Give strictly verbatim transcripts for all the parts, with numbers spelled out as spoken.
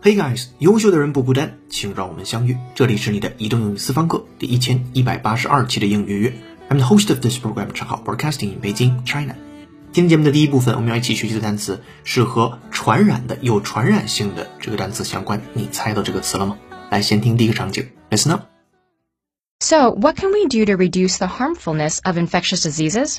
Hey guys， 优秀的人不孤单，请让我们相遇。这里是你的移动英语私房课第一千一百八十二期的英语约。I'm the host of this program, 陈浩 broadcasting in Beijing, China. 今天节目的第一部分，我们要一起学习的单词是和传染的、有传染性的这个单词相关。你猜到这个词了吗？来，先听第一个场景 ，Listen up. So, what can we do to reduce the harmfulness of infectious diseases?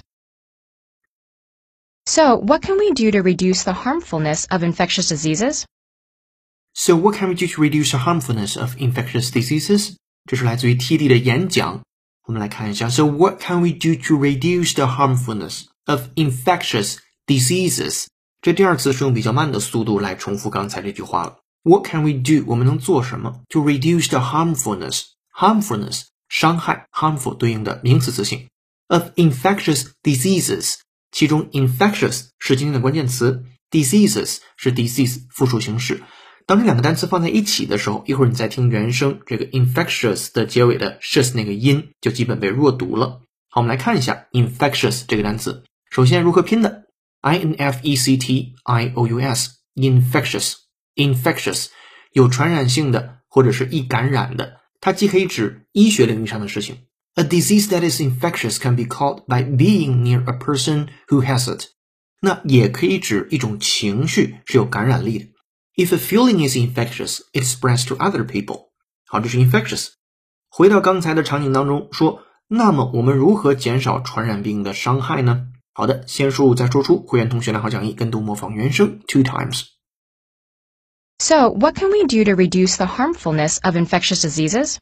So, what can we do to reduce the harmfulness of infectious diseases? So what can we do to reduce the harmfulness of infectious diseases? 这是来自于 T D 的演讲。我们来看一下。So what can we do to reduce the harmfulness of infectious diseases? 这第二次是用比较慢的速度来重复刚才这句话了。What can we do? 我们能做什么 to reduce the harmfulness? Harmfulness 伤害 harmful 对应的名词词性 of infectious diseases. 其中 infectious 是今天的关键词 diseases 是 disease 复数形式。当这两个单词放在一起的时候，一会儿你再听原声，这个 infectious 的结尾的 sh 那个音就基本被弱读了。好，我们来看一下 infectious 这个单词。首先如何拼的 I N F E C T I O U S infectious infectious 有传染性的或者是易感染的，它既可以指医学领域上的事情。A disease that is infectious can be called by being near a person who has it. 那也可以指一种情绪是有感染力的。If a feeling is infectious, it spreads to other people. 好，这是 infectious. 回到刚才的场景当中说，那么我们如何减少传染病的伤害呢？好的，先输入再说出，会员同学来好讲义，跟读模仿原声 two times. So, what can we do to reduce the harmfulness of infectious diseases?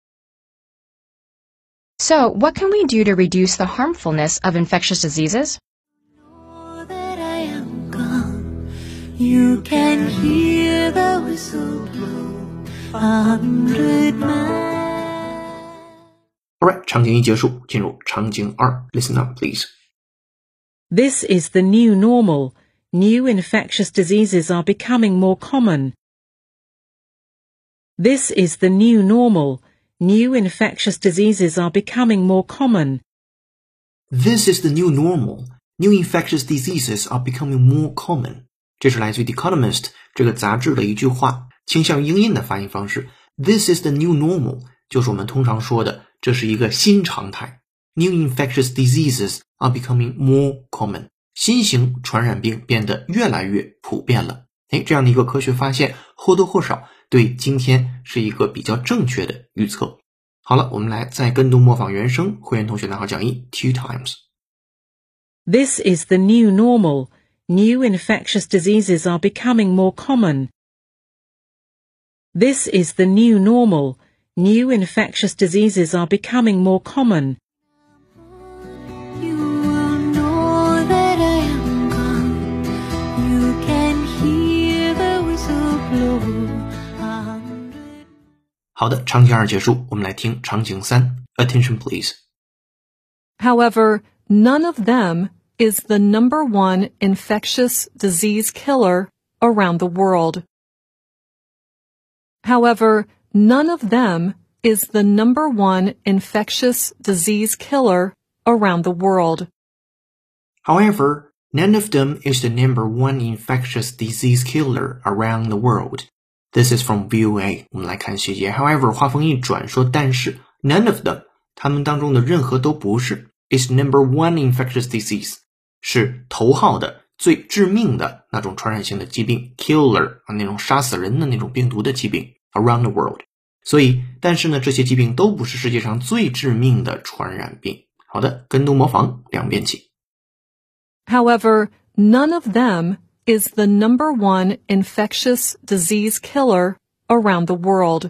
So, what can we do to reduce the harmfulness of infectious diseases? You can hear the whistle blow a hundred miles. Alright, 场景一结束，进入场景二 Listen up, please. This is the new normal. New infectious diseases are becoming more common. This is the new normal. New infectious diseases are becoming more common. This is the new normal. New infectious diseases are becoming more common. 这是来自于 The Economist 这个杂志的一句话，倾向于英音的发音方式。This is the new normal 就是我们通常说的，这是一个新常态。New infectious diseases are becoming more common. 新型传染病变得越来越普遍了。诶，这样的一个科学发现，或多或少对今天是一个比较正确的预测。好了，我们来再跟读模仿原声，会员同学拿好讲义 two times. This is the new normal. New infectious diseases are becoming more common. This is the new normal. New infectious diseases are becoming more common. You will know that I am gone. You can hear the whistle blow a hundred. 好的，场景二结束，我们来听场景三 Attention please. However, none of them is the number one infectious disease killer around the world. However, none of them is the number one infectious disease killer around the world. However, none of them is the number one infectious disease killer around the world. This is from V O A. 我们来看细节。However, 话锋一转说，但是 none of them 他们当中的任何都不是 is number one infectious disease 是头号的最致命的那种传染性的疾病 killer 啊，那种杀死人的那种病毒的疾病 around the world。所以，但是呢，这些疾病都不是世界上最致命的传染病。好的，跟读模仿两遍起。 However, none of them is the number one infectious disease killer around the world.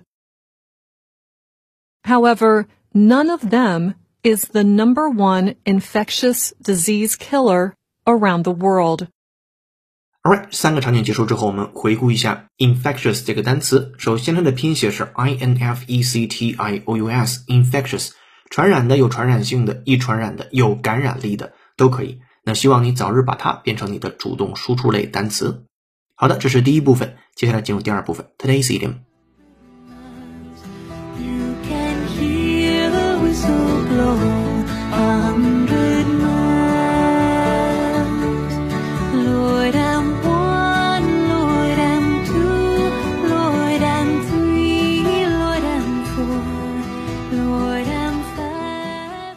However, none of them is the number one infectious disease killer around the world. Alright, 三个场景结束之后，我们回顾一下 infectious 这个单词。首先它的拼写是 I N F E C T I O U S infectious 传染的、有传染性的、易传染的、有感染力的都可以。那希望你早日把它变成你的主动输出类单词。好的，这是第一部分，接下来进入第二部分 Today's idiom. You can hear the whistle blow a hundred miles. Lord, I'm one, Lord, I'm two, Lord,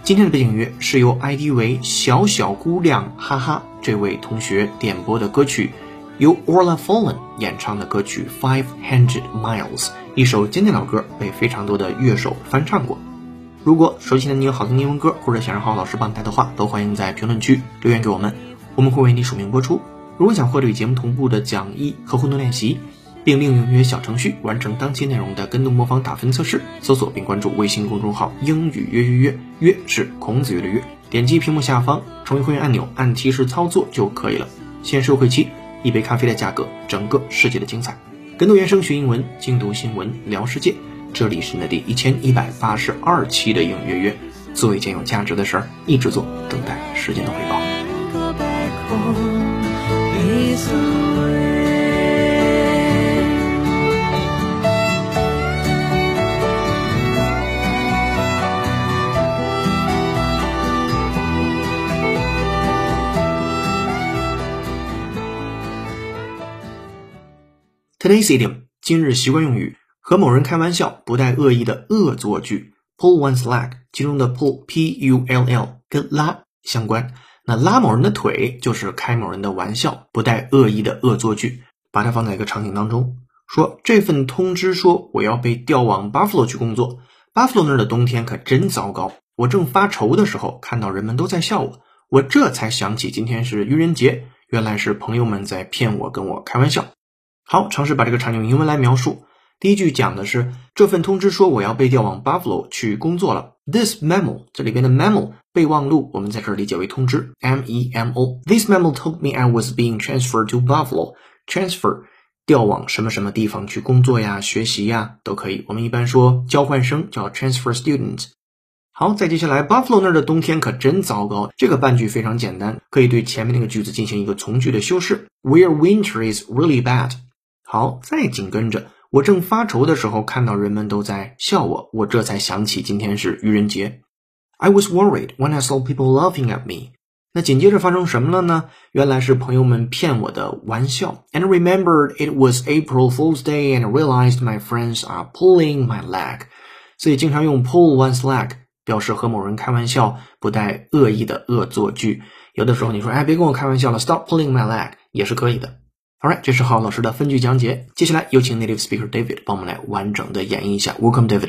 今天的背景音乐是由 I D 为小小姑娘哈哈这位同学点播的歌曲，由 Orla Fallen 演唱的歌曲 Five Hundred Miles， 一首经典老歌，被非常多的乐手翻唱过。如果手机前的你有好听的英文歌，或者想让浩浩老师帮你带的话，都欢迎在评论区留言给我们，我们会为你署名播出。如果想获得与节目同步的讲义和互动练习，并利用英语小程序完成当期内容的跟读模仿打分测试，搜索并关注微信公众号英语约约约，约是孔子约的约，点击屏幕下方成为会员按钮，按提示操作就可以了。限时优惠期，一杯咖啡的价格，整个世界的精彩。跟读原声学英文，精读新闻聊世界，这里是你的第一千一百八十二期的英语约约，做一件有价值的事儿，一直做，等待时间的回报。Today's idiom 今日习惯用语，和某人开玩笑不带恶意的恶作剧 pull one's leg， 其中的 pull P U L L 跟拉相关，那拉某人的腿就是开某人的玩笑，不带恶意的恶作剧。把它放在一个场景当中，说这份通知说我要被调往 Buffalo 去工作， Buffalo 那儿的冬天可真糟糕，我正发愁的时候看到人们都在笑我，我这才想起今天是愚人节，原来是朋友们在骗我，跟我开玩笑。好，尝试把这个场景用英文来描述。第一句讲的是这份通知说我要被调往 Buffalo 去工作了。This memo， 这里边的 memo 备忘录，我们在这儿理解为通知 M E M O。 This memo told me I was being transferred to Buffalo。 Transfer 调往什么什么地方去工作呀，学习呀，都可以。我们一般说交换生叫 transfer student。 好，再接下来 Buffalo 那儿的冬天可真糟糕，这个半句非常简单，可以对前面那个句子进行一个从句的修饰 Where winter is really bad。好，再紧跟着我正发愁的时候看到人们都在笑我，我这才想起今天是愚人节。 I was worried when I saw people laughing at me。 那紧接着发生什么了呢？原来是朋友们骗我的玩笑。 And I remembered it was April Fool's Day and I realized my friends are pulling my leg。 所以经常用 pull one's leg 表示和某人开玩笑，不带恶意的恶作剧。有的时候你说哎，别跟我开玩笑了， stop pulling my leg 也是可以的。Alright， 这是浩老师的分句讲解。接下来有请 native speaker David 帮我们来完整的演绎一下。Welcome, David.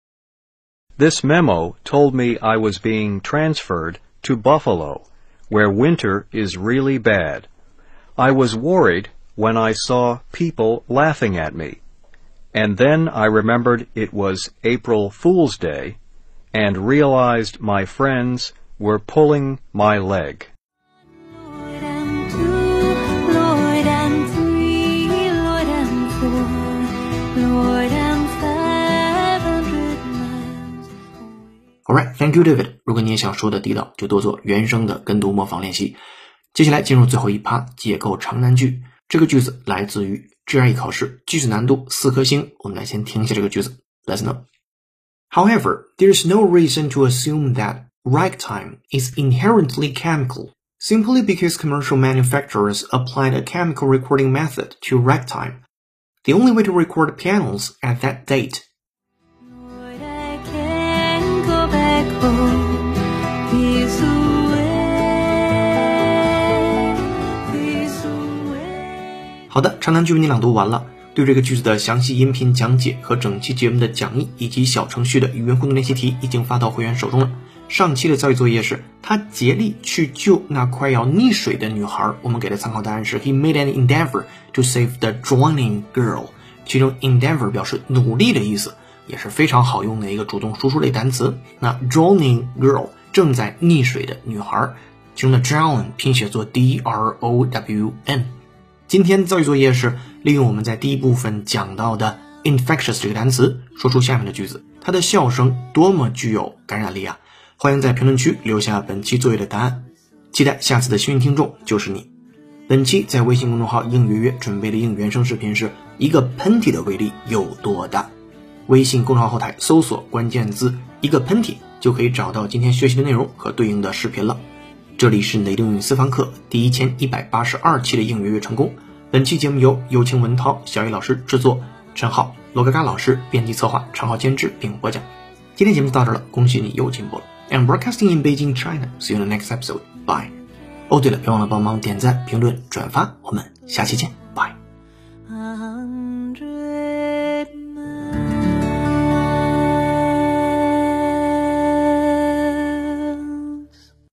This memo told me I was being transferred to Buffalo, where winter is really bad. I was worried when I saw people laughing at me. And then I remembered it was April Fool's Day and realized my friends were pulling my leg. Alright, thank you, David. 如果你也想说的地道，就多做原声的跟读模仿练习。接下来进入最后一趴，解构长难句。这个句子来自于 G R E 考试，句子难度四颗星。我们来先听一下这个句子。Let's know. However, there's no reason to assume that ragtime is inherently chemical, simply because commercial manufacturers applied a chemical recording method to ragtime. The only way to record pianos at that date好的，长难句为你朗读完了。对这个句子的详细音频讲解和整期节目的讲义以及小程序的语言互动练习题已经发到会员手中了。上期的造句作业是他竭力去救那快要溺水的女孩，我们给的参考答案是 He made an endeavor to save the drowning girl。 其中 endeavor 表示努力的意思，也是非常好用的一个主动输出类单词。那 drowning girl 正在溺水的女孩，其中的 drown 拼写作 D R O W N。 今天造句作业是利用我们在第一部分讲到的 infectious 这个单词，说出下面的句子，它的笑声多么具有感染力啊！欢迎在评论区留下本期作业的答案，期待下次的幸运听众就是你。本期在微信公众号英语约约准备的英语原声视频是一个喷嚏的威力有多大。微信公众号后台搜索关键字一个喷嚏，就可以找到今天学习的内容和对应的视频了。这里是你的英语私房课第一千一百八十二期的英语约约成功。本期节目由有请文涛、小雨老师制作，陈浩、罗嘎嘎老师编辑策划，常浩监制并播讲。今天节目到这了，恭喜你又进步了。 and broadcasting in Beijing, China. See you in the next episode. Bye. 哦，对了，别忘了帮忙点赞、评论、转发，我们下期见。Bye.